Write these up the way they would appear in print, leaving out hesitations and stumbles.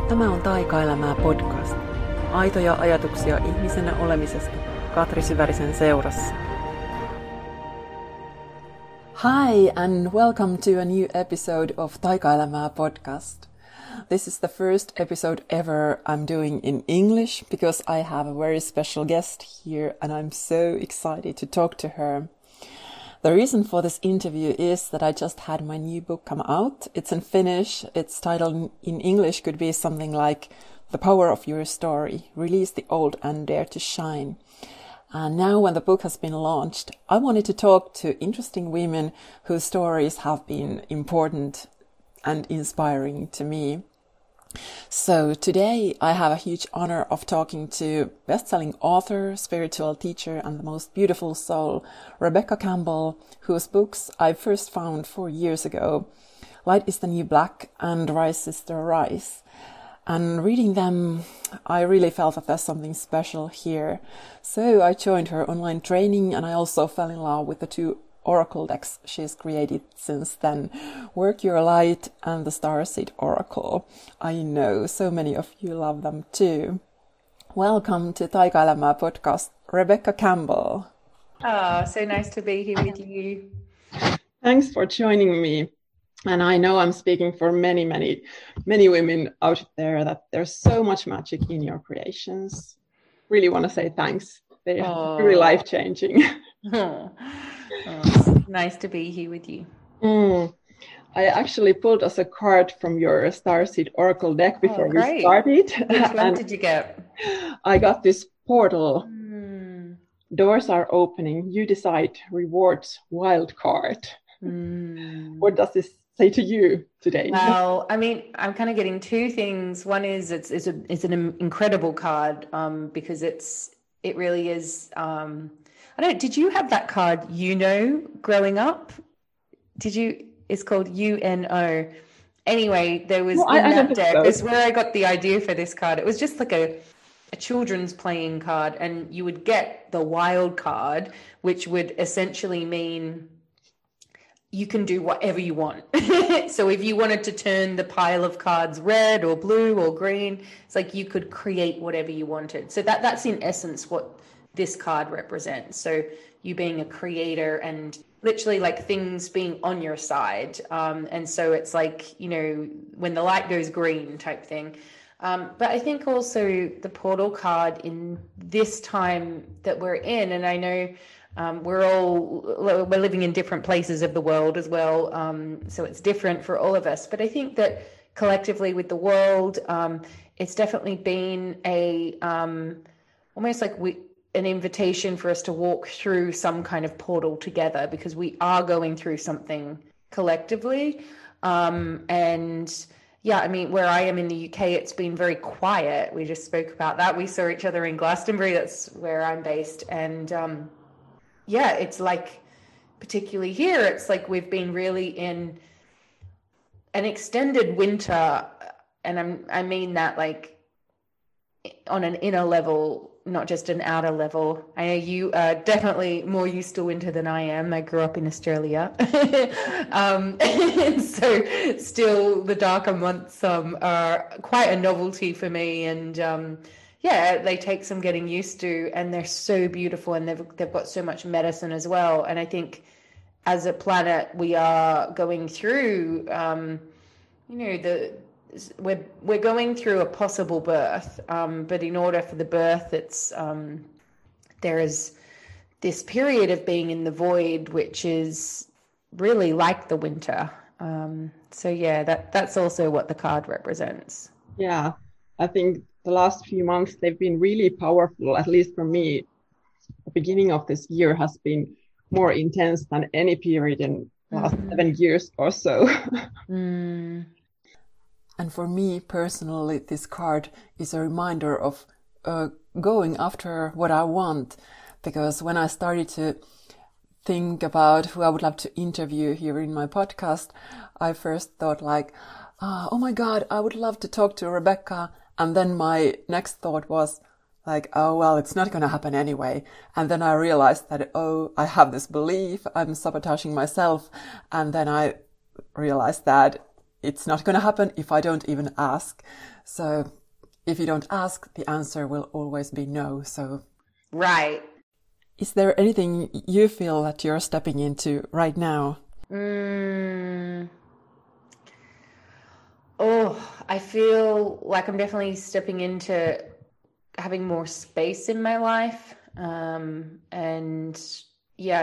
Tämä on Taikaelämää podcast. Aitoja ajatuksia ihmisenä olemisesta Katri Syvärisen seurassa. Hi and welcome to a new episode of Taikaelämää podcast. This is the first episode ever I'm doing in English because I have a very special guest here and I'm so excited to talk to her. The reason for this interview is that I just had my new book come out. It's in Finnish. Its title in English could be something like The Power of Your Story, Release the Old and Dare to Shine. And now when the book has been launched, I wanted to talk to interesting women whose stories have been important and inspiring to me. So today I have a huge honor of talking to best-selling author, spiritual teacher, and the most beautiful soul, Rebecca Campbell, whose books I first found 4 years ago, Light is the New Black and Rise Sister Rise. And reading them, I really felt that there's something special here. So I joined her online training and I also fell in love with the 2 oracle decks she's created since then, Work Your Light and the Starseed Oracle. I know so many of you love them too. Welcome to Taikaelämää podcast, Rebecca Campbell. Oh, so nice to be here with you. Thanks for joining me. And I know I'm speaking for many women out there that there's so much magic in your creations. Really want to say thanks. They are really life-changing. It's nice to be here with you. I actually pulled us a card from your Starseed Oracle deck before we started. Which one did you get? I got this portal. Doors are opening. You decide. Rewards. Wild card. What does this say to you today? Well, I mean, I'm kind of getting 2 things. One is it's an incredible card because it really is. Did you have that card, growing up? Did you? It's called UNO. Anyway, there was in that deck. So. It's where I got the idea for this card. It was just like a children's playing card, and you would get the wild card, which would essentially mean you can do whatever you want. So if you wanted to turn the pile of cards red or blue or green, it's like you could create whatever you wanted. So that's in essence what this card represents. So you being a creator and literally like things being on your side. And so it's like, when the light goes green type thing. But I think also the portal card in this time that we're in, and I know we're living in different places of the world as well. So it's different for all of us. But I think that collectively with the world, it's definitely been almost like an invitation for us to walk through some kind of portal together because we are going through something collectively. And yeah, I mean, where I am in the UK, it's been very quiet. We just spoke about that. We saw each other in Glastonbury. That's where I'm based. And it's like, particularly here, it's like we've been really in an extended winter. And I mean that like on an inner level, not just an outer level. I know you are definitely more used to winter than I am. I grew up in Australia. And so still the darker months are quite a novelty for me. And they take some getting used to, and they're so beautiful, and they've got so much medicine as well. And I think as a planet, we are going through, we're going through a possible birth, but in order for the birth, it's there is this period of being in the void, which is really like the winter. That's also what the card represents. Yeah, I think the last few months they've been really powerful. At least for me, the beginning of this year has been more intense than any period in the last 7 years or so. And for me personally, this card is a reminder of going after what I want. Because when I started to think about who I would love to interview here in my podcast, I first thought like, oh my God, I would love to talk to Rebecca. And then my next thought was like, oh, well, it's not going to happen anyway. And then I realized that, I have this belief, I'm sabotaging myself. And then I realized that it's not going to happen if I don't even ask. So if you don't ask, the answer will always be no. So, right. Is there anything you feel that you're stepping into right now? Oh, I feel like I'm definitely stepping into having more space in my life, and yeah,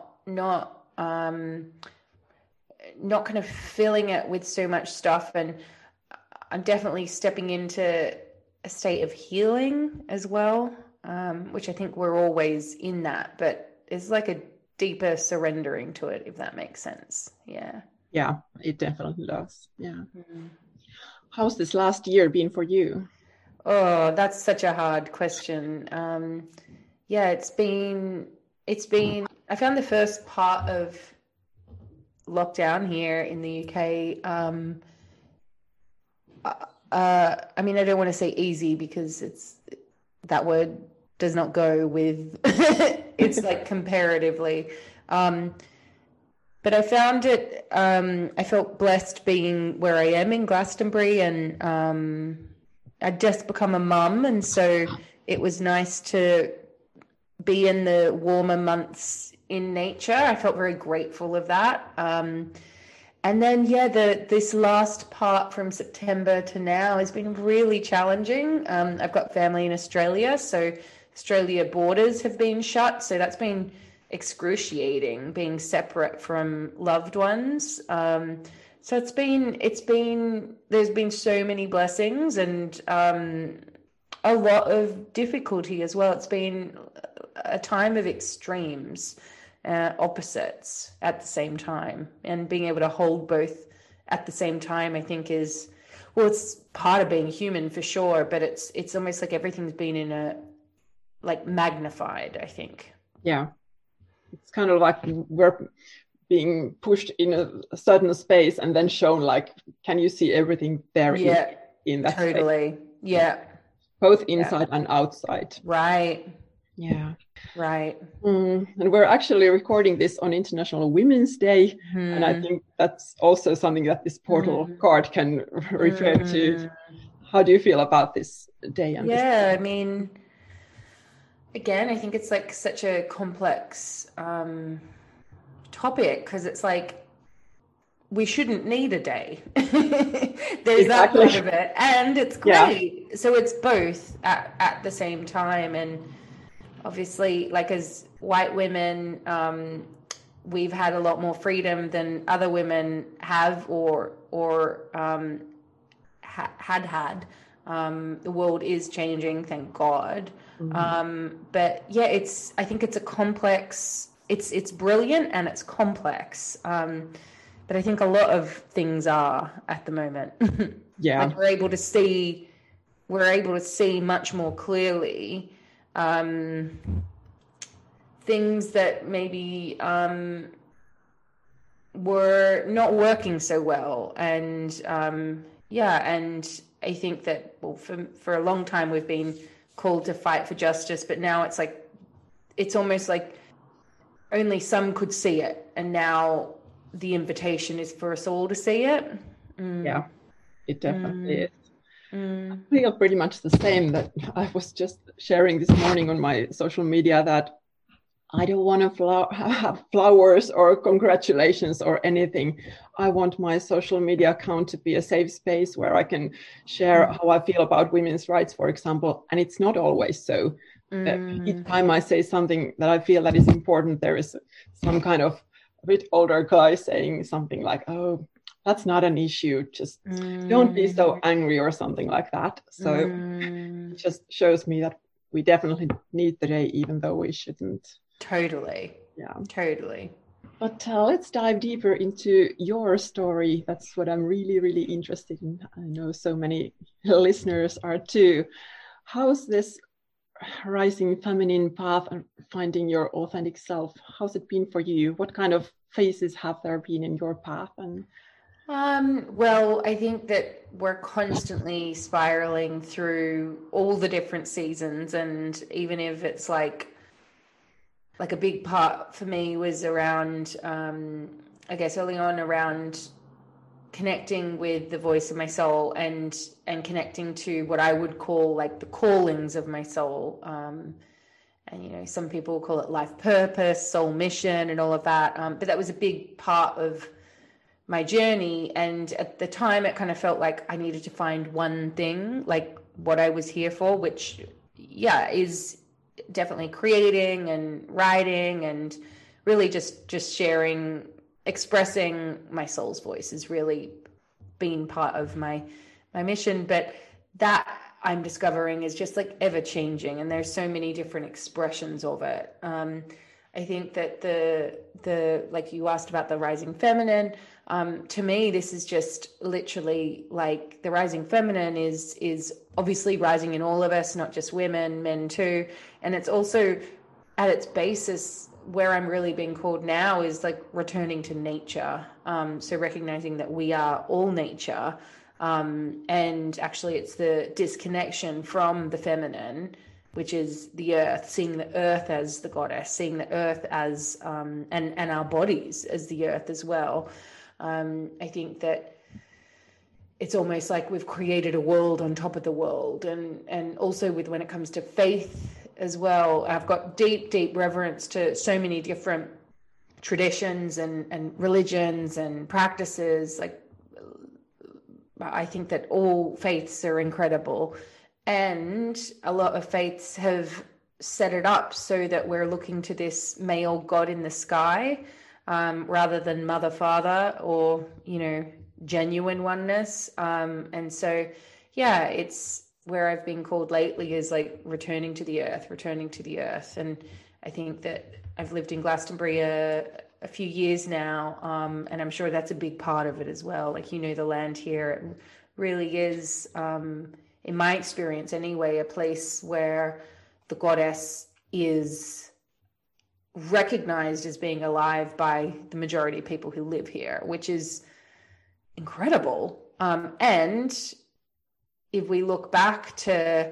not kind of filling it with so much stuff. And I'm definitely stepping into a state of healing as well, which I think we're always in that, but it's like a deeper surrendering to it, if that makes sense. Yeah. Yeah, it definitely does. Yeah. How's this last year been for you? Oh, that's such a hard question. Yeah, it's been, I found the first part of lockdown here in the UK. I mean, I don't want to say easy because that word does not go with, it's like comparatively. But I found it, I felt blessed being where I am in Glastonbury, and I'd just become a mum. And so it was nice to be in the warmer months in nature. I felt very grateful of that. And then, yeah, this last part from September to now has been really challenging. I've got family in Australia, so Australia borders have been shut. So that's been excruciating, being separate from loved ones. So it's been there's been so many blessings and a lot of difficulty as well. It's been a time of extremes, opposites at the same time, and being able to hold both at the same time, I think is, well, it's part of being human for sure, but it's almost like everything's been in a, like, magnified, I think. Yeah, it's kind of like we're being pushed in a certain space and then shown, like, can you see everything there? Yeah, in that totally space? Yeah, both inside and outside. right. Yeah. Right. And we're actually recording this on International Women's Day. And I think that's also something that this portal card can refer to. How do you feel about this day? And I mean, again, I think it's like such a complex topic, because it's like we shouldn't need a day. There's that part of it, and it's great. Yeah. So it's both at the same time. And obviously, like, as white women, we've had a lot more freedom than other women have or had. The world is changing, thank God. But yeah, I think it's a complex, it's brilliant and it's complex. But I think a lot of things are at the moment. Yeah. Like we're able to see much more clearly things that maybe were not working so well. And and I think that, well, for a long time we've been called to fight for justice, but now it's like, it's almost like only some could see it, and now the invitation is for us all to see it. Yeah, it definitely is. I feel pretty much the same. That I was just sharing this morning on my social media that I don't want to have flowers or congratulations or anything. I want my social media account to be a safe space where I can share how I feel about women's rights, for example. And it's not always so. Each time I say something that I feel that is important, there is some kind of a bit older guy saying something like, "Oh, that's not an issue. Just don't be so angry," or something like that. So it just shows me that we definitely need the day, even though we shouldn't. Totally. Yeah. Totally. But let's dive deeper into your story. That's what I'm really, really interested in. I know so many listeners are too. How's this rising feminine path and finding your authentic self? How's it been for you? What kind of phases have there been in your path? And well, I think that we're constantly spiraling through all the different seasons, and even if it's like a big part for me was around, I guess early on, around connecting with the voice of my soul and connecting to what I would call like the callings of my soul. And, you know, some people call it life purpose, soul mission, and all of that. But that was a big part of my journey. And at the time, it kind of felt like I needed to find one thing, like what I was here for, which, yeah, is definitely creating and writing and really just sharing, expressing my soul's voice has really been part of my mission. But that, I'm discovering, is just like ever changing, and there's so many different expressions of it. I think that the like you asked about the rising feminine, to me this is just literally like the rising feminine is obviously rising in all of us, not just women, men too, and it's also at its basis where I'm really being called now is like returning to nature. So recognizing that we are all nature. And actually it's the disconnection from the feminine, which is the earth, seeing the earth as the goddess, seeing the earth as, and our bodies as the earth as well. I think that it's almost like we've created a world on top of the world. And also with when it comes to faith as well, I've got deep reverence to so many different traditions and religions and practices. Like, I think that all faiths are incredible, and a lot of faiths have set it up so that we're looking to this male god in the sky, rather than mother, father, or, you know, genuine oneness. And so, yeah, it's where I've been called lately is like returning to the earth. And I think that I've lived in Glastonbury a few years now, and I'm sure that's a big part of it as well. Like, you know, the land here, it really is, in my experience anyway, a place where the goddess is recognized as being alive by the majority of people who live here, which is incredible. And if we look back to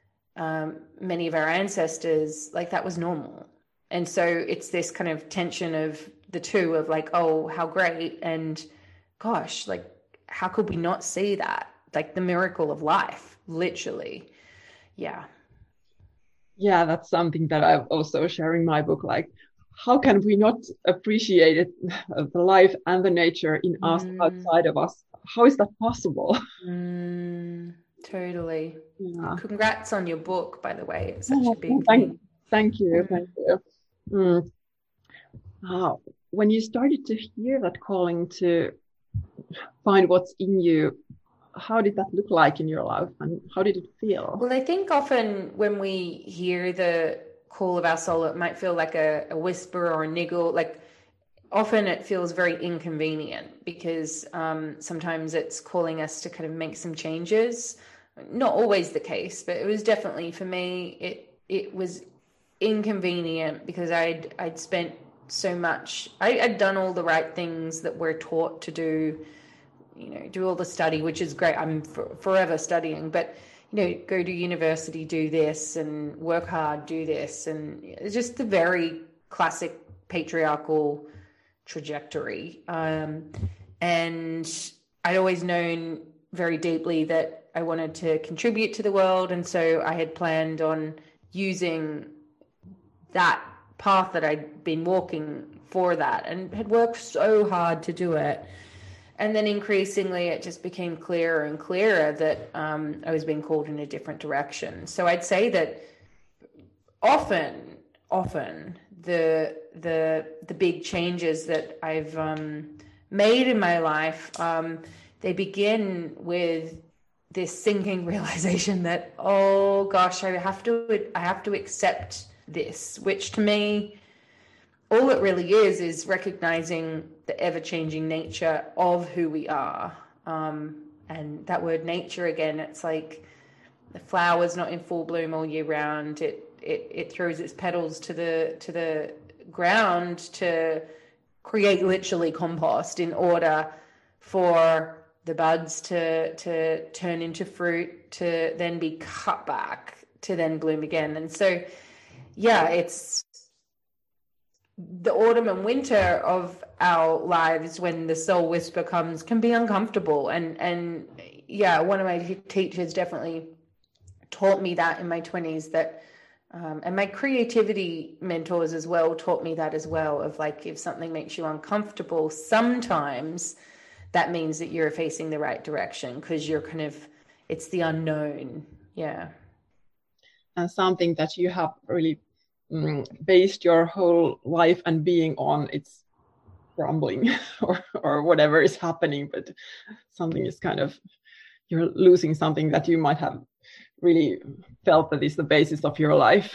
many of our ancestors, like that was normal. And so it's this kind of tension of the two, of like, oh, how great, and gosh, like, how could we not see that? Like the miracle of life, literally. Yeah. Yeah, that's something that I've also sharing my book. Like, how can we not appreciate it, the life and the nature in us, outside of us? How is that possible? Totally. Yeah. Congrats on your book, by the way. It's such a big thing. Thank you. Thank you. When you started to hear that calling to find what's in you, how did that look like in your life, and how did it feel? Well, I think often when we hear the call of our soul, it might feel like a whisper or a niggle. Like, often it feels very inconvenient because sometimes it's calling us to kind of make some changes. Not always the case, but it was definitely, for me, it was inconvenient because I'd spent so much, I'd done all the right things that we're taught to do, you know, do all the study, which is great. I'm forever studying, but, you know, go to university, do this, and work hard, do this. And it's just the very classic patriarchal trajectory. And I'd always known very deeply that I wanted to contribute to the world. And so I had planned on using that path that I'd been walking for that, and had worked so hard to do it. And then increasingly it just became clearer and clearer that I was being called in a different direction. So I'd say that often the big changes that I've made in my life, they begin with this sinking realization that, oh gosh, I have to accept this, which to me, all it really is recognizing the ever-changing nature of who we are. And that word nature, again, it's like the flower's not in full bloom all year round. It throws its petals to the ground to create literally compost in order for the buds to turn into fruit, to then be cut back, to then bloom again. And so, yeah, it's the autumn and winter of our lives, when the soul whisper comes, can be uncomfortable. And yeah, one of my teachers definitely taught me that in my 20s, that and my creativity mentors as well taught me that as well, of like, if something makes you uncomfortable, sometimes that means that you're facing the right direction, because you're kind of, it's the unknown. Yeah. And something that you have really based your whole life and being on, it's crumbling or whatever is happening, but something is kind of, you're losing something that you might have really felt that is the basis of your life.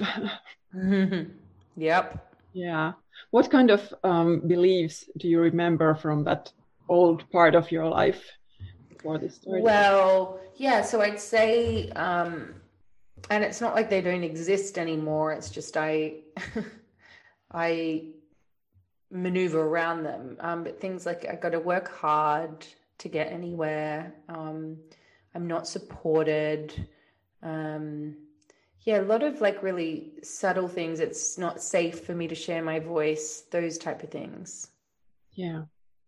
Yep. Yeah. What kind of beliefs do you remember from that old part of your life before this story? Well, yeah, so I'd say, and it's not like they don't exist anymore. It's just I maneuver around them. But things like, I got to work hard to get anywhere. I'm not supported. Yeah, a lot of like really subtle things. It's not safe for me to share my voice, those type of things. Yeah.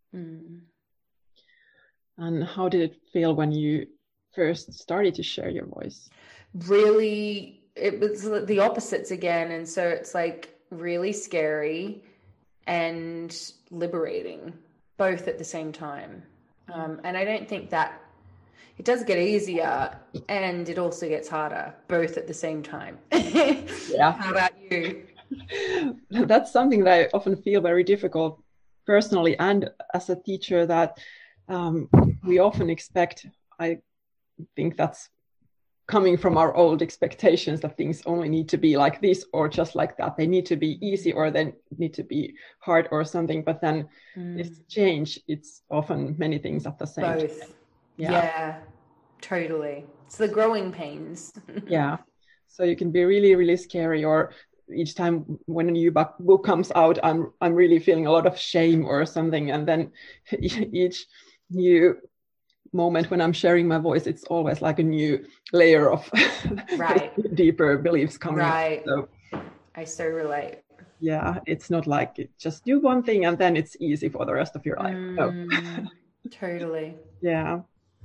And how did it feel when you first started to share your voice? Really, it was the opposites again. And so it's like really scary and liberating, both at the same time. And I don't think that it does get easier, and it also gets harder, both at the same time. Yeah. How about you? That's something that I often feel very difficult personally and as a teacher, that we often expect, I think that's coming from our old expectations, that things only need to be like this or just like that. They need to be easy or they need to be hard or something. But then it's change. It's often many things at the same time. Both. Yeah, totally. It's the growing pains. Yeah. So you can be really, really scary, or each time when a new book comes out, I'm really feeling a lot of shame or something. And then each new moment when I'm sharing my voice, it's always like a new layer of deeper beliefs coming up. So, I so relate. Yeah, it's not like just do one thing and then it's easy for the rest of your life. No. Totally. Yeah.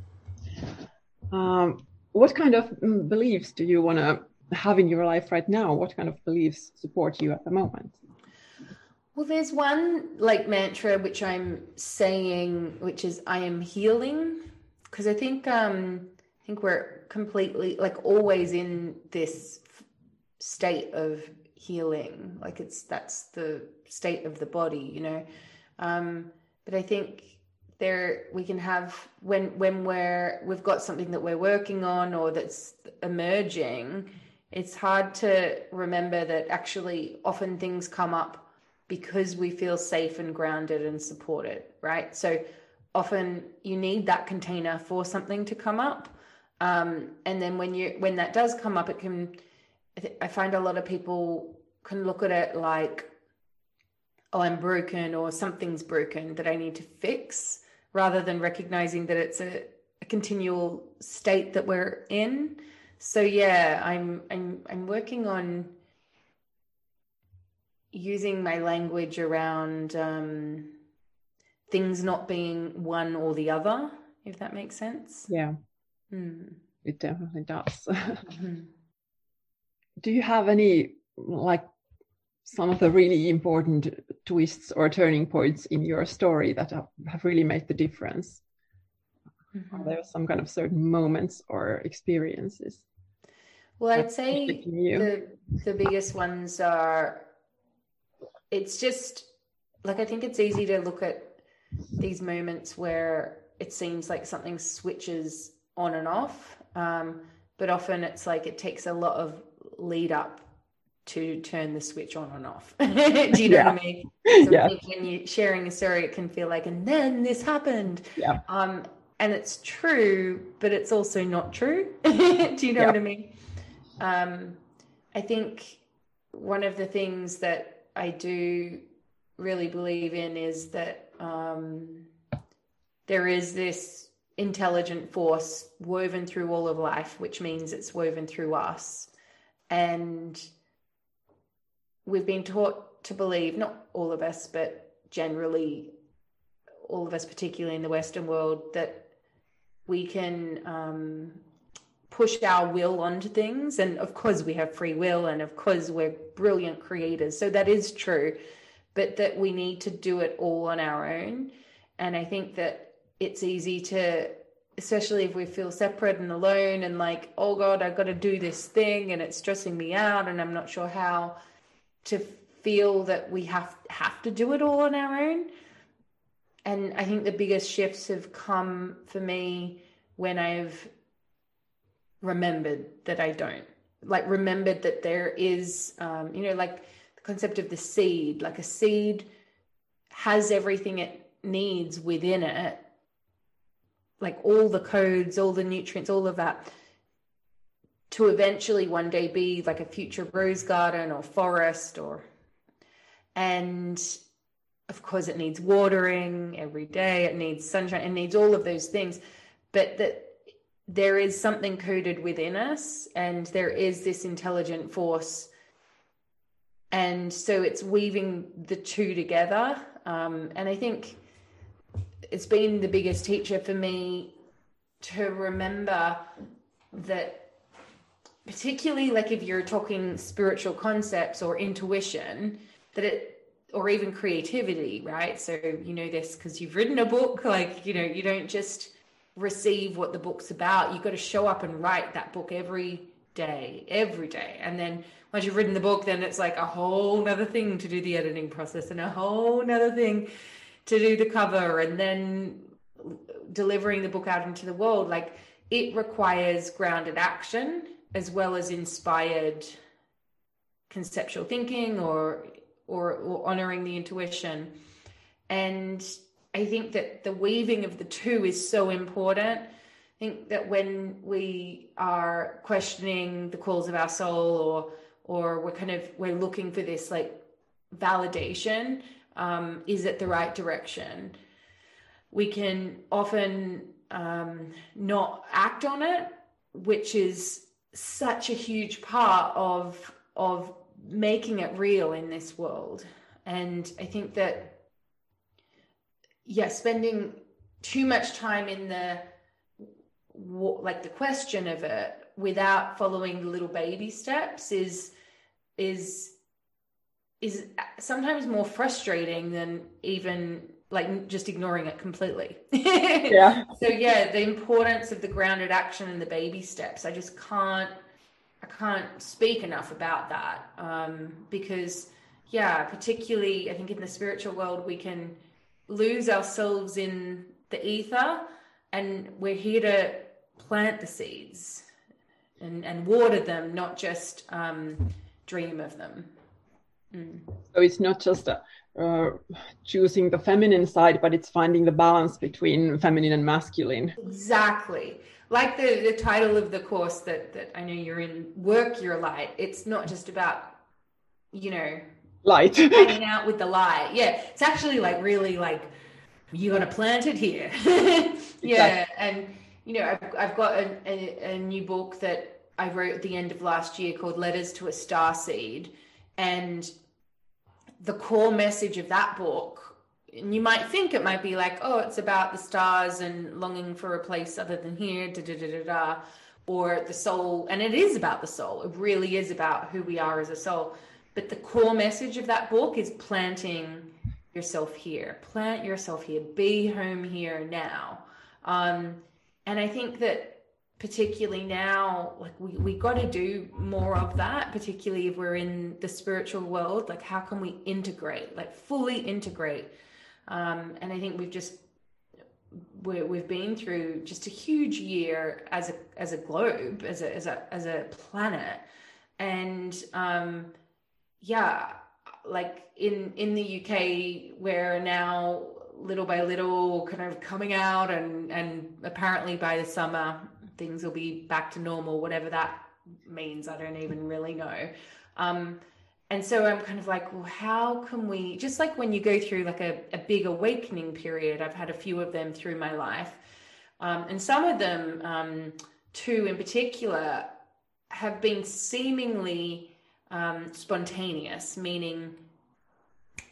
What kind of beliefs do you want to have in your life right now? What kind of beliefs support you at the moment? Well, there's one like mantra which I'm saying, which is I am healing, because I think we're completely, like, always in this state of healing, like that's the state of the body, you know. But I think we can have, when we've got something that we're working on or that's emerging, it's hard to remember that actually often things come up because we feel safe and grounded and supported, right? So often you need that container for something to come up. And then when that does come up, I find a lot of people can look at it like, oh, I'm broken, or something's broken that I need to fix, rather than recognizing that it's a continual state that we're in. So yeah, I'm working on using my language around things not being one or the other, if that makes sense. Yeah, it definitely does. Do you have any, like, some of the really important twists or turning points in your story that have really made the difference? Are there some kind of certain moments or experiences? Well, I'd say the biggest ones are, it's just like, I think it's easy to look at these moments where it seems like something switches on and off, but often it's like it takes a lot of lead up to turn the switch on and off. Do you know what I mean? So I think when you're sharing a story, it can feel like, and then this happened. Yeah. And it's true, but it's also not true. Do you know what I mean? I think one of the things that I do really believe in is that there is this intelligent force woven through all of life, which means it's woven through us. And we've been taught to believe, not all of us, but generally all of us, particularly in the Western world, that we can push our will onto things. And of course we have free will, and of course we're brilliant creators. So that is true, but that we need to do it all on our own. And I think that it's easy to, especially if we feel separate and alone and like, oh God, I've got to do this thing and it's stressing me out and I'm not sure how, to feel that we have to do it all on our own. And I think the biggest shifts have come for me when I've remembered that I don't. Like, remembered that there is, like the concept of the seed. Like, a seed has everything it needs within it, like all the codes, all the nutrients, all of that, to eventually one day be like a future rose garden or forest, and of course it needs watering every day, it needs sunshine, it needs all of those things, but that there is something coded within us, and there is this intelligent force, and so it's weaving the two together. And I think it's been the biggest teacher for me to remember that, particularly like if you're talking spiritual concepts or intuition, that it, or even creativity, right? So you know this because you've written a book, like, you don't just receive what the book's about. You've got to show up and write that book every day. And then once you've written the book, then it's like a whole nother thing to do the editing process, and a whole nother thing to do the cover, and then delivering the book out into the world. Like, it requires grounded action as well as inspired conceptual thinking or honoring the intuition. And I think that the weaving of the two is so important. I think that when we are questioning the calls of our soul, or we're looking for this like validation, is it the right direction, we can often not act on it, which is such a huge part of making it real in this world. And I think that, spending too much time in the question of it without following the little baby steps is sometimes more frustrating than even like just ignoring it completely. Yeah. So the importance of the grounded action and the baby steps, I can't speak enough about that, because particularly I think in the spiritual world we can lose ourselves in the ether, and we're here to plant the seeds and water them, not just dream of them. So it's not just choosing the feminine side, but it's finding the balance between feminine and masculine. Exactly. Like the title of the course that I know you're in, Work Your Light. It's not just about, Light. hanging out with the light. Yeah. It's actually like really like, you got to plant it here. Yeah. Exactly. And, I've got a new book that I wrote at the end of last year called Letters to a Starseed. And the core message of that book, and you might think it might be like, oh, it's about the stars and longing for a place other than here, or the soul. And it is about the soul. It really is about who we are as a soul. But the core message of that book is planting yourself here. Plant yourself here. Be home here now. And I think that particularly now, like we got to do more of that, particularly if we're in the spiritual world. Like, how can we integrate, like fully integrate? And I think we've been through just a huge year as a globe, as a planet. And like in the UK, we're now little by little kind of coming out, and apparently by the summer things will be back to normal, whatever that means. I don't even really know. And so I'm kind of like, well, how can we, just like when you go through like a big awakening period, I've had a few of them through my life. And some of them, two in particular, have been seemingly spontaneous, meaning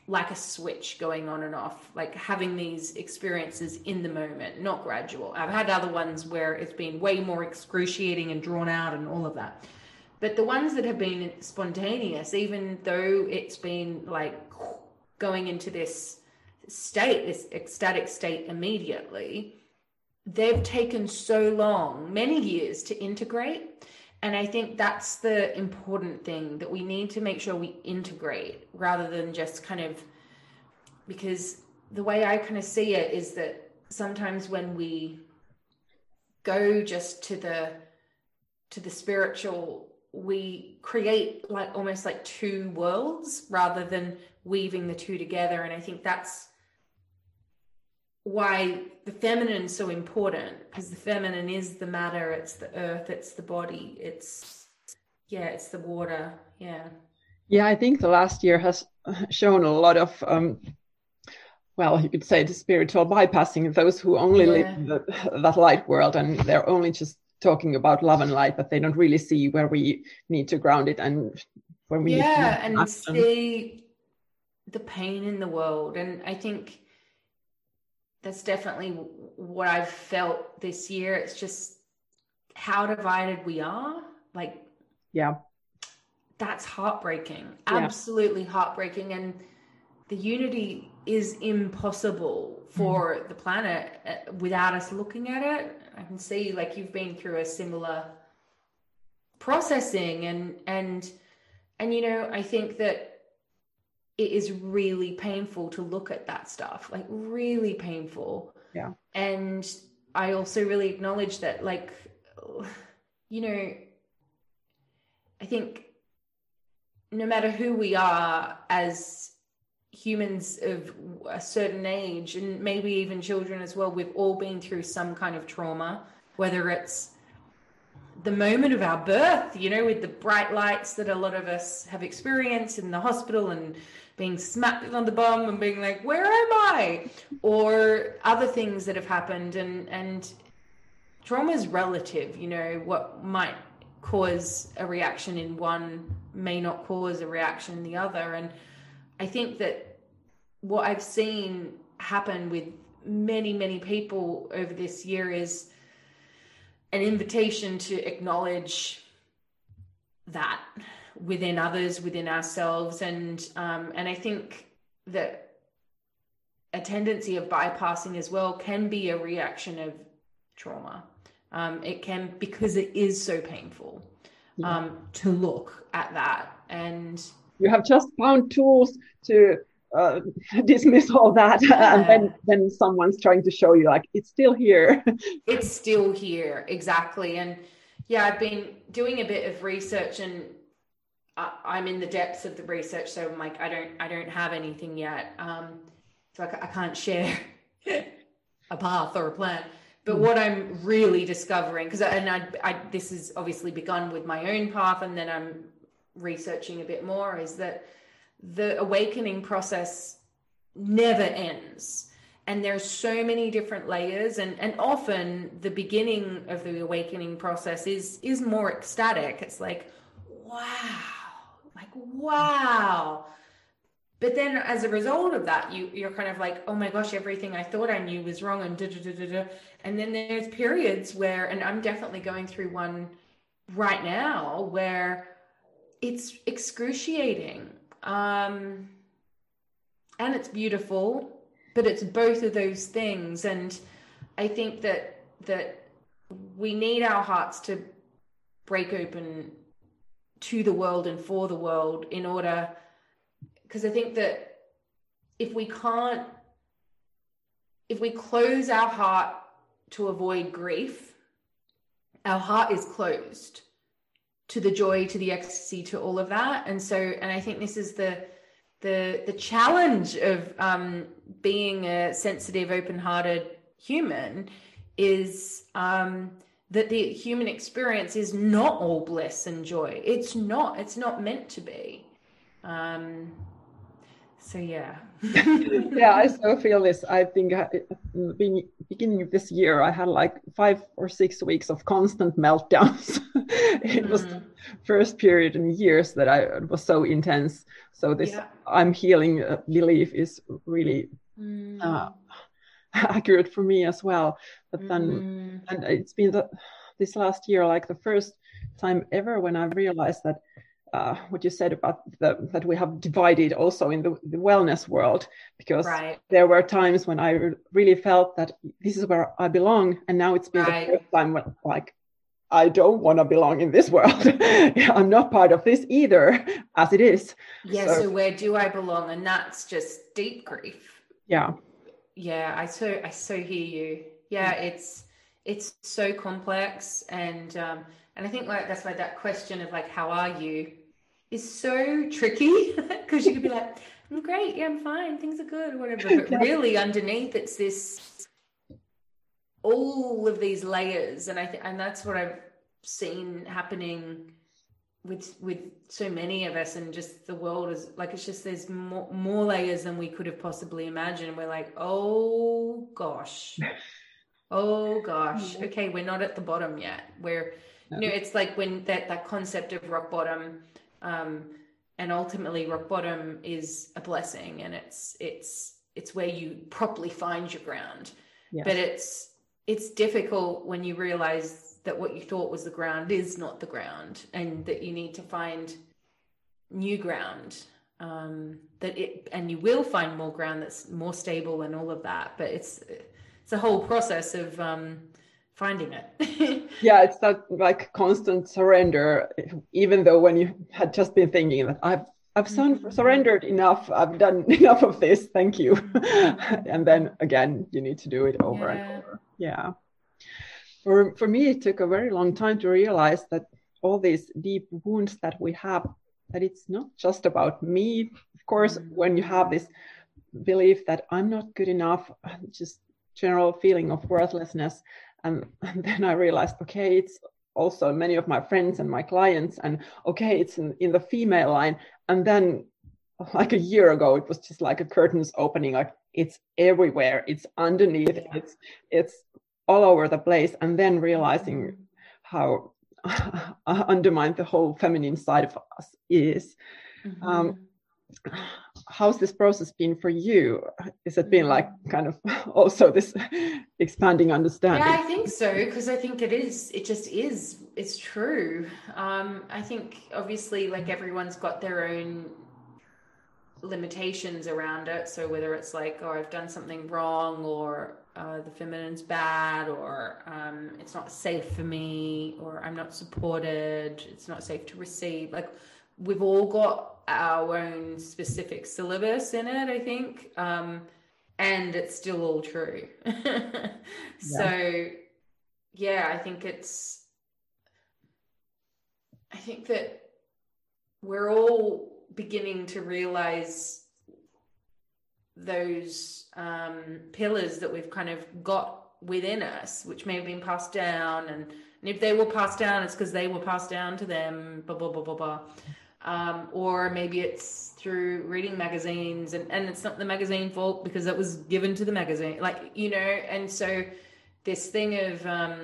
like a switch going on and off, like having these experiences in the moment, not gradual. I've had other ones where it's been way more excruciating and drawn out and all of that. But the ones that have been spontaneous, even though it's been like going into this state, this ecstatic state immediately, they've taken so long, many years to integrate. And I think that's the important thing, that we need to make sure we integrate rather than just kind of, because the way I kind of see it is that sometimes when we go just to the spiritual, we create like almost like two worlds rather than weaving the two together. And I think that's why the feminine is so important, because the feminine is the matter, it's the earth, it's the body, it's the water. Yeah, I think the last year has shown a lot of well, you could say the spiritual bypassing, those who only live that light world, and they're only just talking about love and light, but they don't really see where we need to ground it and where we need to and see the pain in the world. And I think that's definitely what I've felt this year. It's just how divided we are. Like, that's heartbreaking, absolutely heartbreaking. And the unity is impossible for the planet without us looking at it. I can see like you've been through a similar processing and you know, I think that it is really painful to look at that stuff, like really painful. Yeah. And I also really acknowledge that, like, you know, I think no matter who we are as humans of a certain age, and maybe even children as well, we've all been through some kind of trauma, whether it's the moment of our birth, you know, with the bright lights that a lot of us have experienced in the hospital and being smacked on the bum and being like, where am I? Or other things that have happened. And trauma is relative, you know, what might cause a reaction in one may not cause a reaction in the other. And I think that what I've seen happen with many, many people over this year is an invitation to acknowledge that within others, within ourselves. And I think that a tendency of bypassing as well can be a reaction of trauma. It can, because it is so painful to look at that. And you have just found tools to dismiss all that, and then someone's trying to show you like it's still here. It's still here, exactly. And yeah, I've been doing a bit of research, and I'm in the depths of the research, so I'm like, I don't have anything yet, so I can't share a path or a plan. But what I'm really discovering, because this has obviously begun with my own path, and then I'm researching a bit more, is that the awakening process never ends. And there's so many different layers, and often the beginning of the awakening process is more ecstatic. It's like, wow. But then as a result of that, you're kind of like, oh my gosh, everything I thought I knew was wrong, and And then there's periods where, and I'm definitely going through one right now, where it's excruciating. And it's beautiful, but it's both of those things. And I think that we need our hearts to break open to the world and for the world, in order, because I think that if we close our heart to avoid grief, our heart is closed to the joy, to the ecstasy, to all of that. And I think this is the challenge of being a sensitive, open-hearted human, is that the human experience is not all bliss and joy. It's not meant to be. So yeah. Yeah, I so feel this. I think beginning of this year, I had like 5 or 6 weeks of constant meltdowns. It was the first period in years that it was so intense. So this I'm healing belief is really accurate for me as well. But then, and it's been this last year, like the first time ever when I realized that what you said about that we have divided also in the wellness world, because there were times when I really felt that this is where I belong, and now it's been the first time when, like, I don't want to belong in this world. I'm not part of this either, as it is. Yeah. So where do I belong? And that's just deep grief. Yeah. Yeah. I so hear you. Yeah. It's so complex, and I think like that's why that question of like, how are you, is so tricky, because you could be like, I'm great, yeah, I'm fine, things are good, whatever. But really underneath it's this, all of these layers, and and that's what I've seen happening with so many of us, and just the world is like, it's just there's more layers than we could have possibly imagined. We're like, oh gosh, okay, we're not at the bottom yet. We're it's like when that concept of rock bottom, and ultimately rock bottom is a blessing, and it's where you properly find your ground. Yes. But it's difficult when you realize that what you thought was the ground is not the ground, and that you need to find new ground, and you will find more ground that's more stable and all of that. But it's a whole process of finding it. Yeah, it's that like constant surrender, even though when you had just been thinking that I've surrendered enough, I've done enough of this, thank you. And then again, you need to do it over and over. Yeah. For me, it took a very long time to realize that all these deep wounds that we have, that it's not just about me. Of course, when you have this belief that I'm not good enough, just general feeling of worthlessness, and then I realized, okay, it's also many of my friends and my clients, and okay, it's in the female line. And then like a year ago, it was just like a curtains opening, like it's everywhere, it's underneath, it's all over the place. And then realizing how undermined the whole feminine side of us is. How's this process been for you? Has it been like kind of also this expanding understanding? Yeah, I think so, because I think it's true. I think obviously like everyone's got their own limitations around it. So whether it's like, oh, I've done something wrong, or the feminine's bad, or it's not safe for me, or I'm not supported, it's not safe to receive, like we've all got our own specific syllabus in it, I think. And it's still all true. So, yeah, I think that we're all beginning to realize those pillars that we've kind of got within us, which may have been passed down. And if they were passed down, it's because they were passed down to them, blah, blah, blah, blah, blah. Or maybe it's through reading magazines, and it's not the magazine fault because it was given to the magazine, like, and so this thing of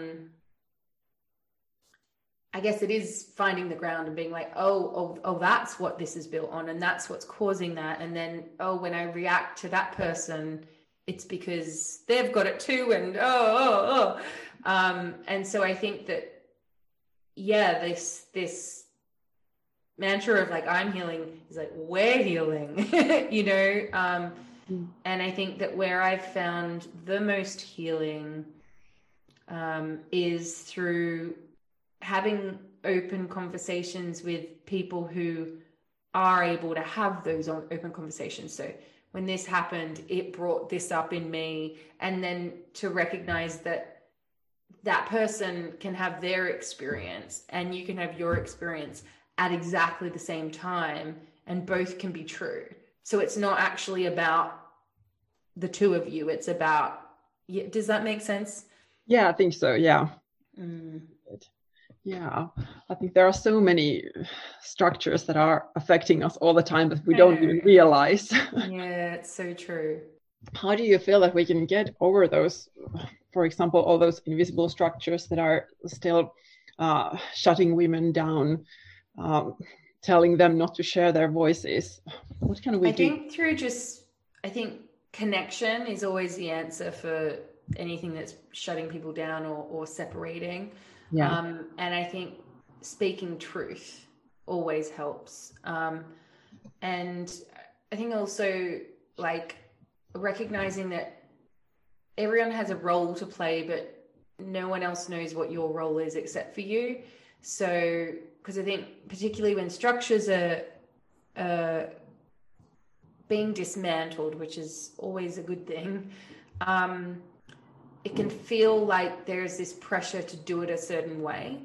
I guess it is finding the ground and being like, oh, that's what this is built on, and that's what's causing that. And then, when I react to that person, it's because they've got it too, and and so I think that this mantra of like, I'm healing is like, we're healing, and I think that where I've found the most healing is through having open conversations with people who are able to have those open conversations. So when this happened, it brought this up in me, and then to recognize that person can have their experience and you can have your experience at exactly the same time, and both can be true. So it's not actually about the two of you, it's about, does that make sense? Yeah, I think so. Yeah. Yeah, I think there are so many structures that are affecting us all the time that we don't even realize. Yeah, it's so true. How do you feel that we can get over those, for example, all those invisible structures that are still shutting women down, telling them not to share their voices. What can we do? I think connection is always the answer for anything that's shutting people down or separating. Yeah. And I think speaking truth always helps. And I think also like recognizing that everyone has a role to play, but no one else knows what your role is except for you. So, because I think particularly when structures are being dismantled, which is always a good thing, it can feel like there's this pressure to do it a certain way,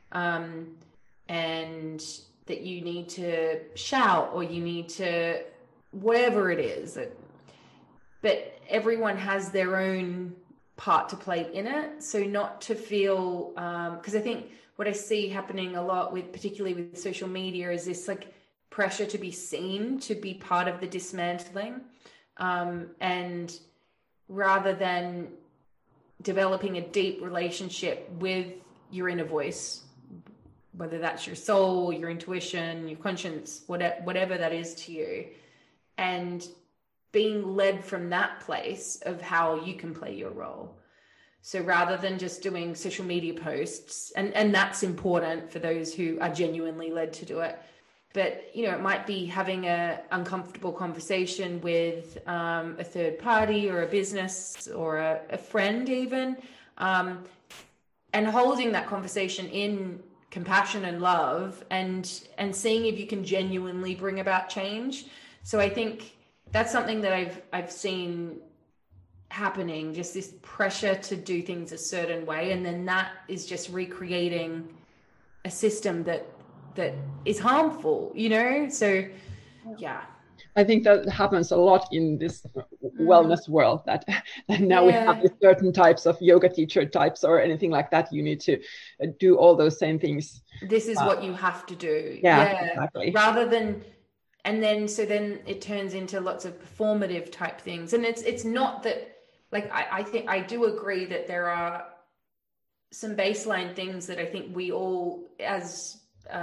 and that you need to shout or you need to whatever it is. But everyone has their own part to play in it. So not to feel, because I think what I see happening a lot with, particularly with social media, is this like pressure to be seen, to be part of the dismantling. And rather than developing a deep relationship with your inner voice, whether that's your soul, your intuition, your conscience, whatever that is to you, and being led from that place of how you can play your role. So rather than just doing social media posts, and that's important for those who are genuinely led to do it, but it might be having a uncomfortable conversation with a third party or a business or a friend even, and holding that conversation in compassion and love, and seeing if you can genuinely bring about change. So I think that's something that I've seen happening, just this pressure to do things a certain way, and then that is just recreating a system that is harmful, so yeah. I think that happens a lot in this wellness world, that now we have certain types of yoga teacher types or anything like that. You need to do all those same things. This is what you have to do. Yeah, exactly. Rather than, and then it turns into lots of performative type things. And it's not that, like, I think I do agree that there are some baseline things that I think we all, as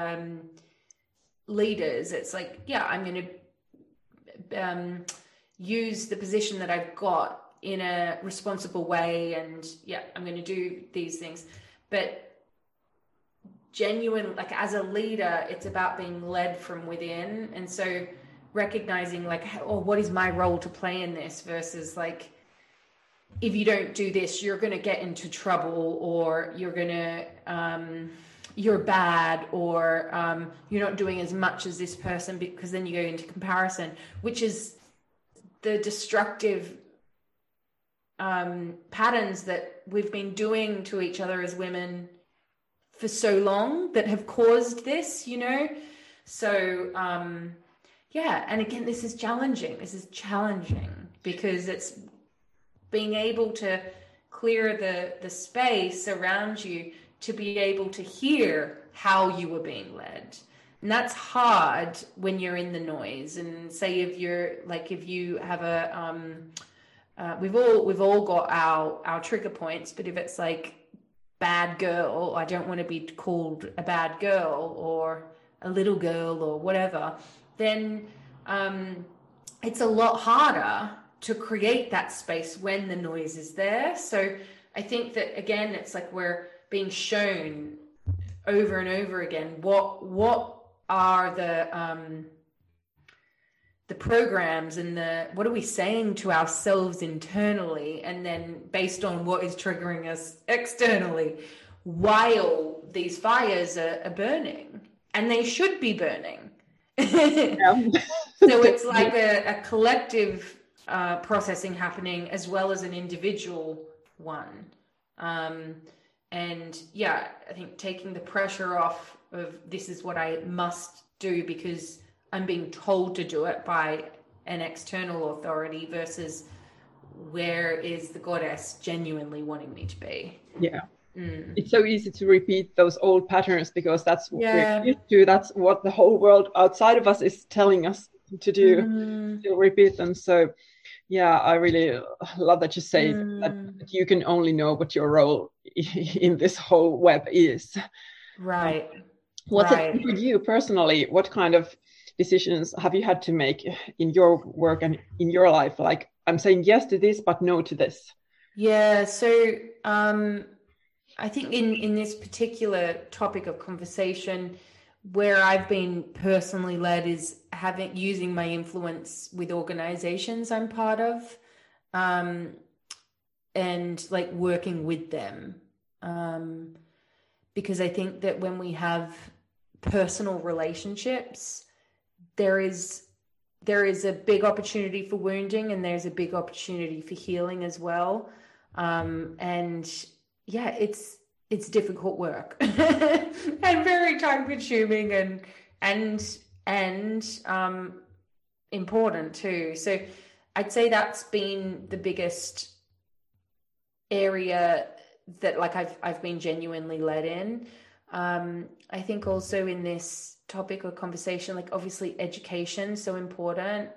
leaders, it's like, I'm going to use the position that I've got in a responsible way, and I'm going to do these things. But genuine, like as a leader, it's about being led from within. And so recognizing like, what is my role to play in this, versus like, if you don't do this, you're going to get into trouble, or you're going to, you're bad, or you're not doing as much as this person, because then you go into comparison, which is the destructive patterns that we've been doing to each other as women for so long, that have caused this, So, and again, this is challenging because it's being able to clear the space around you to be able to hear how you were being led. And that's hard when you're in the noise. And say if you have we've all got our trigger points, but if it's like bad girl, I don't want to be called a bad girl or a little girl or whatever, then it's a lot harder to create that space when the noise is there. So I think that, again, it's like we're being shown over and over again what are the programs and what are we saying to ourselves internally, and then based on what is triggering us externally, while these fires are burning, and they should be burning. So it's like a collective processing happening as well as an individual one. And I think taking the pressure off of this is what I must do because I'm being told to do it by an external authority, versus where is the goddess genuinely wanting me to be. It's so easy to repeat those old patterns because that's what we're used to. That's what the whole world outside of us is telling us to do, to repeat them. So I really love that you say that you can only know what your role in this whole web is. Right. What's it Right. for you personally? What kind of decisions have you had to make in your work and in your life? Like, I'm saying yes to this, but no to this. Yeah. So I think in this particular topic of conversation, where I've been personally led is using my influence with organizations I'm part of, and like working with them. Because I think that when we have personal relationships, there is a big opportunity for wounding, and there's a big opportunity for healing as well. And yeah, it's difficult work and very time consuming and important too. So I'd say that's been the biggest area that like I've been genuinely led in. I think also in this topic or conversation, like obviously education so important.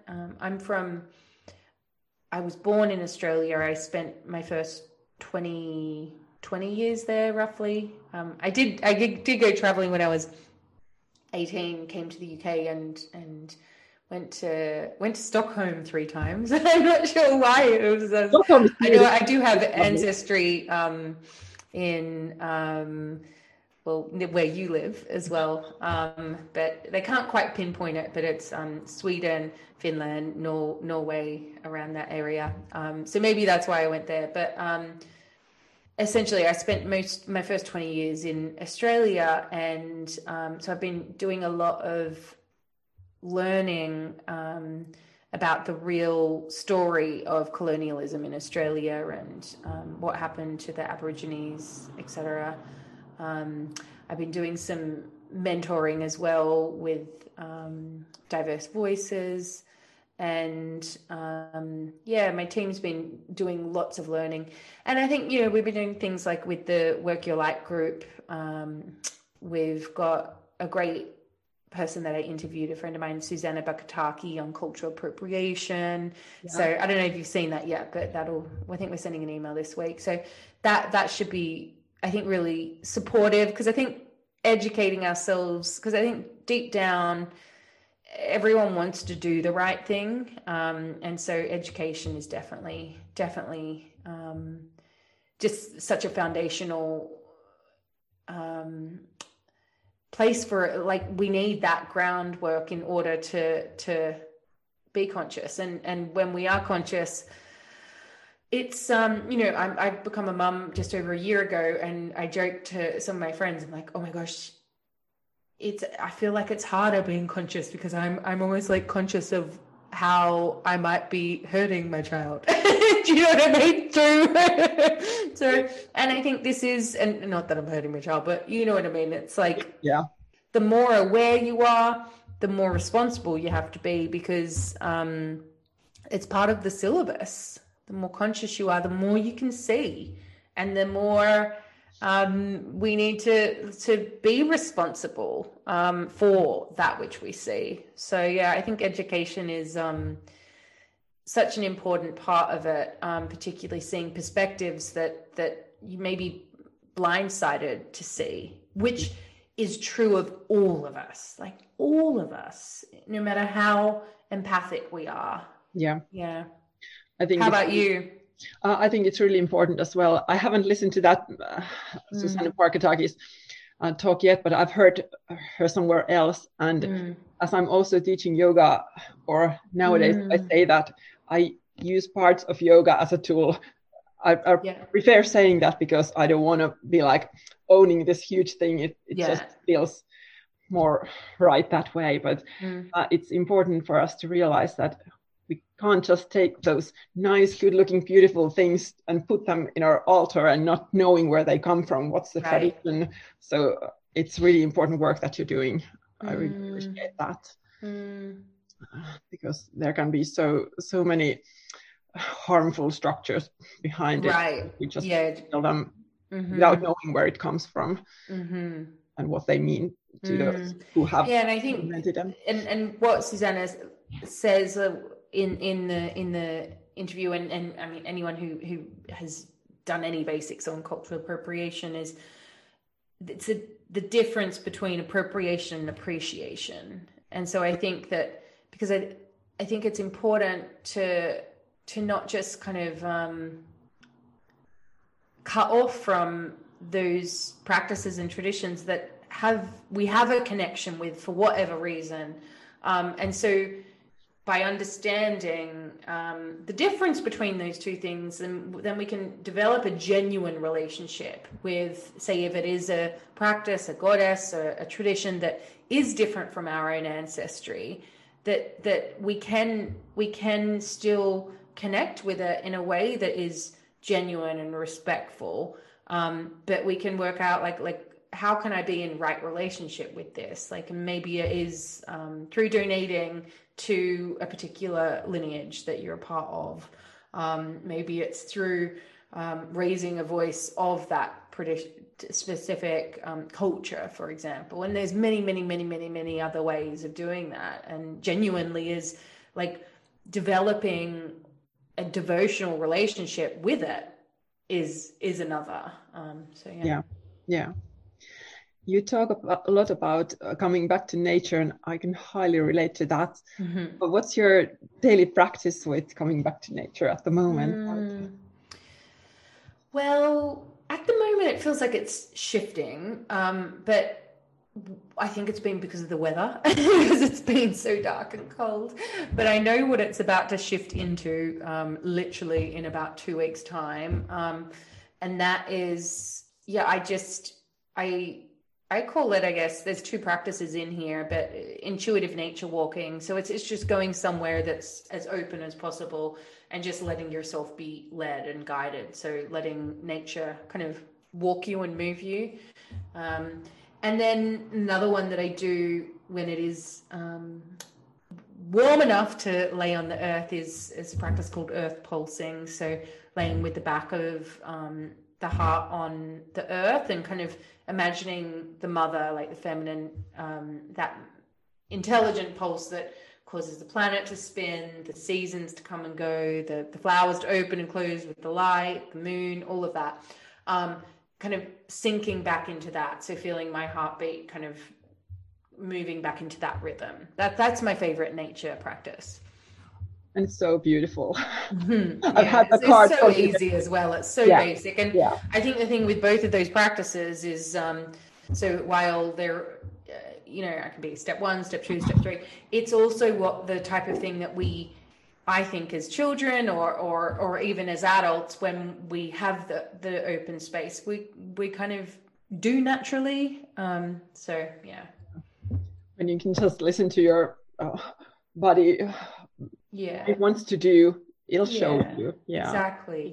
I was born in Australia. I spent my first 20 years there roughly. I did go traveling when I was 18, came to the UK and went to Stockholm 3 times. I'm not sure why. It was I do have ancestry in well, where you live as well, but they can't quite pinpoint it, but it's Sweden, Finland, Norway, around that area. So maybe that's why I went there. But essentially, I spent my first 20 years in Australia, and so I've been doing a lot of learning about the real story of colonialism in Australia and what happened to the Aborigines, etc. I've been doing some mentoring as well with diverse voices, and yeah, my team's been doing lots of learning. And I think, you know, we've been doing things like with the Work Your Light group. We've got a great person that I interviewed, a friend of mine, Susanna Bakataki, on cultural appropriation. Yeah. So I don't know if you've seen that yet, but I think we're sending an email this week. So that should be, I think, really supportive, because I think educating ourselves, because I think deep down everyone wants to do the right thing, and so education is definitely just such a foundational place for, like, we need that groundwork in order to be conscious, and when we are conscious, it's you know, I've become a mum just over a year ago, and I joked to some of my friends, I'm like, oh my gosh, I feel like it's harder being conscious, because I'm almost like conscious of how I might be hurting my child. Do you know what I mean? So, and I think this is, and not that I'm hurting my child, but you know what I mean? It's like, yeah, the more aware you are, the more responsible you have to be, because it's part of the syllabus. The more conscious you are, the more you can see, and the more we need to be responsible for that which we see. So yeah, I think education is such an important part of it, particularly seeing perspectives that you may be blindsided to see, which is true of all of us, like all of us, no matter how empathic we are. Yeah. I think. How about you? I think it's really important as well. I haven't listened to that Susanna Bakataki's talk yet, but I've heard her somewhere else. And as I'm also teaching yoga, or nowadays I say that I use parts of yoga as a tool. I prefer saying that, because I don't want to be like owning this huge thing. It just feels more right that way. But it's important for us to realize that we can't just take those nice, good-looking, beautiful things and put them in our altar and not knowing where they come from, what's the tradition. So it's really important work that you're doing. I really appreciate that, because there can be so many harmful structures behind it. We just feel them without knowing where it comes from and what they mean to those who have and I think implemented them. And what Susanna says in the interview, and I mean anyone who has done any basics on cultural appropriation, is the difference between appropriation and appreciation. And so I think that, because I think it's important to not just kind of cut off from those practices and traditions that we have a connection with for whatever reason. And so by understanding the difference between those two things, then we can develop a genuine relationship with, say, if it is a practice, a goddess, or a tradition that is different from our own ancestry, that we can still connect with it in a way that is genuine and respectful. But we can work out like how can I be in right relationship with this? Like, maybe it is through donating to a particular lineage that you're a part of. Maybe it's through raising a voice of that specific culture, for example. And there's many other ways of doing that. And genuinely is like developing a devotional relationship with it is another. So yeah. You talk a lot about coming back to nature, and I can highly relate to that. Mm-hmm. But what's your daily practice with coming back to nature at the moment? Well, at the moment, it feels like it's shifting, but I think it's been because of the weather, because it's been so dark and cold. But I know what it's about to shift into literally in about 2 weeks' time. And that is, I call it, I guess, there's two practices in here, but intuitive nature walking. So it's just going somewhere that's as open as possible and just letting yourself be led and guided. So letting nature kind of walk you and move you. And then another one that I do when it is warm enough to lay on the earth is a practice called earth pulsing. So laying with the back of the heart on the earth and kind of imagining the mother, like the feminine, that intelligent pulse that causes the planet to spin, the seasons to come and go, the flowers to open and close with the light, the moon, all of that. Kind of sinking back into that. So feeling my heartbeat kind of moving back into that rhythm. That's my favorite nature practice. And it's so beautiful. Mm-hmm. I've had the card. It's so easy as well. It's so basic. And I think the thing with both of those practices is, so while they're, I can be step 1, step 2, step 3, it's also what the type of thing that I think as children or even as adults, when we have the open space, we kind of do naturally. So, yeah. When you can just listen to your body. Yeah, it wants to do, it'll show you. Yeah, exactly.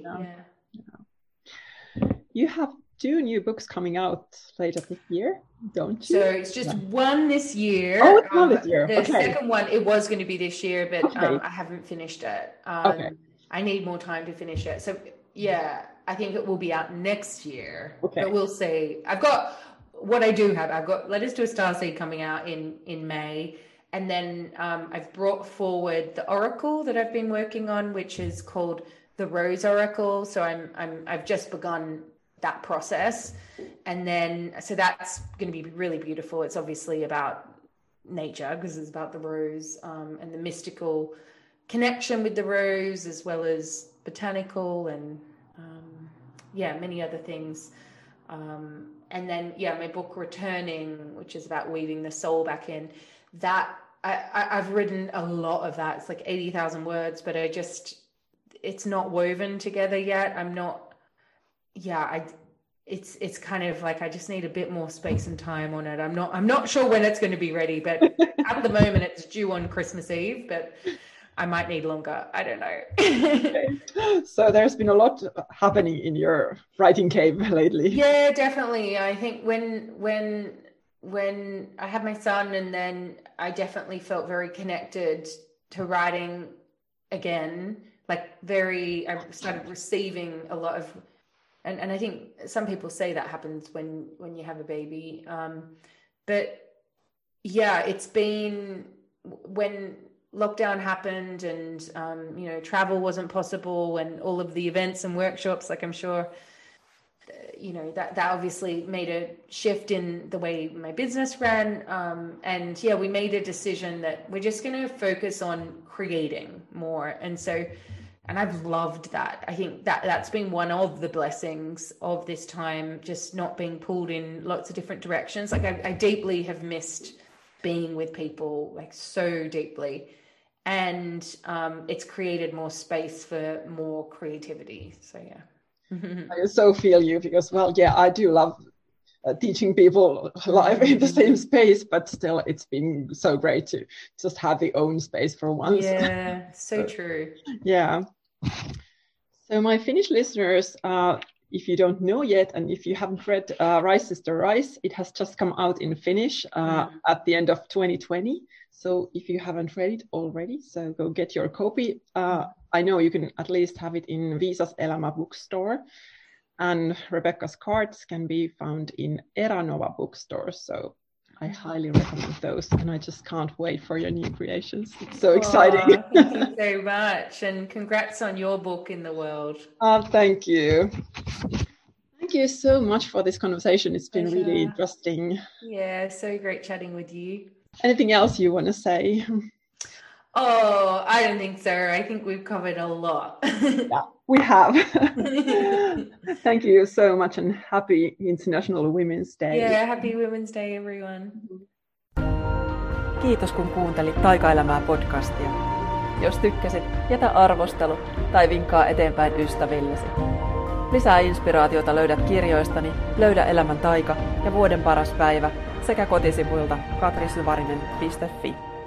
You have 2 new books coming out later this year, don't you? So it's just one this year. Oh, it's one this year. The second one, it was going to be this year, but I haven't finished it. I need more time to finish it. So I think it will be out next year. But we'll see. I've got Letters to a Starseed coming out in May. And then I've brought forward the Oracle that I've been working on, which is called the Rose Oracle. So I've just begun that process. And then, so that's going to be really beautiful. It's obviously about nature because it's about the rose and the mystical connection with the rose, as well as botanical and many other things. And then, my book Returning, which is about weaving the soul back in. That I've written a lot of that. It's like 80,000 words, but it's not woven together yet. It's kind of like I just need a bit more space and time on it. I'm not sure when it's going to be ready, but at the moment it's due on Christmas Eve, but I might need longer. I don't know. So there's been a lot happening in your writing cave lately. Yeah, definitely. I think when I had my son, and then I definitely felt very connected to writing again, I started receiving a lot of, and I think some people say that happens when you have a baby. But it's been when lockdown happened and, travel wasn't possible and all of the events and workshops, like I'm sure that obviously made a shift in the way my business ran. And yeah, we made a decision that we're just going to focus on creating more. And I've loved that. I think that's been one of the blessings of this time, just not being pulled in lots of different directions. Like I deeply have missed being with people, like so deeply. And it's created more space for more creativity. So yeah. I so feel you because, well, yeah, I do love teaching people live in the same space, but still it's been so great to just have the own space for once. Yeah, so true. Yeah. So my Finnish listeners, if you don't know yet, and if you haven't read Rise Sister Rise, it has just come out in Finnish at the end of 2020. So if you haven't read it already, so go get your copy. I know you can at least have it in Viisas Elämä bookstore, and Rebecca's cards can be found in Eranova bookstore. So I highly recommend those, and I just can't wait for your new creations. It's so exciting. Thank you so much, and congrats on your book in the world. Thank you. Thank you so much for this conversation. It's been really interesting. Yeah, so great chatting with you. Anything else you want to say? Oh, I don't think so. I think we've covered a lot. Yeah, we have. Thank you so much, and happy International Women's Day. Yeah, happy Women's Day, everyone. Kiitos kun kuuntelit Taikaelämää podcastia. Jos tykkäsit, jätä arvostelu tai vinkkaa eteenpäin ystävillesi. Lisää inspiraatiota löydät kirjoistani Löydä elämän taika ja Vuoden paras päivä sekä kotisivuilta katrisyvarinen.fi.